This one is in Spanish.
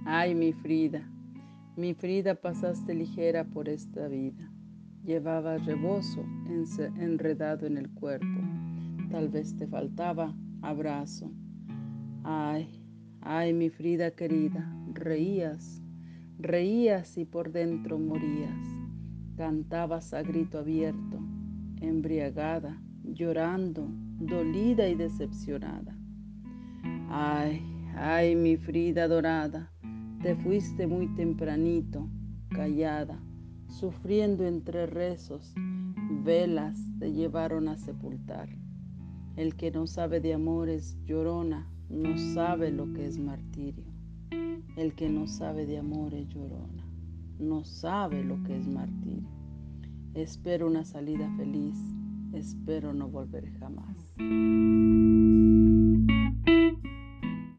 Ay, mi Frida, pasaste ligera por esta vida. Llevabas rebozo enredado en el cuerpo. Tal vez te faltaba abrazo. Ay, ay, mi Frida querida, reías y por dentro morías. Cantabas a grito abierto, embriagada, llorando, dolida y decepcionada. Ay, ay, mi Frida dorada, te fuiste muy tempranito, callada, sufriendo entre rezos, velas te llevaron a sepultar. El que no sabe de amores, llorona, no sabe lo que es martirio. El que no sabe de amores, llorona, no sabe lo que es martirio. Espero una salida feliz, espero no volver jamás.